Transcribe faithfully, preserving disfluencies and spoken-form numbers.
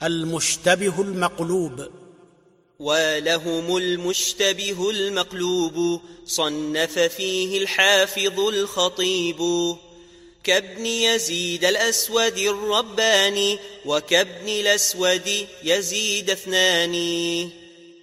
المشتبه المقلوب. ولهم المشتبه المقلوب صنف فيه الحافظ الخطيب، كابن يزيد الأسود الرباني وكابن الأسود يزيد اثنان.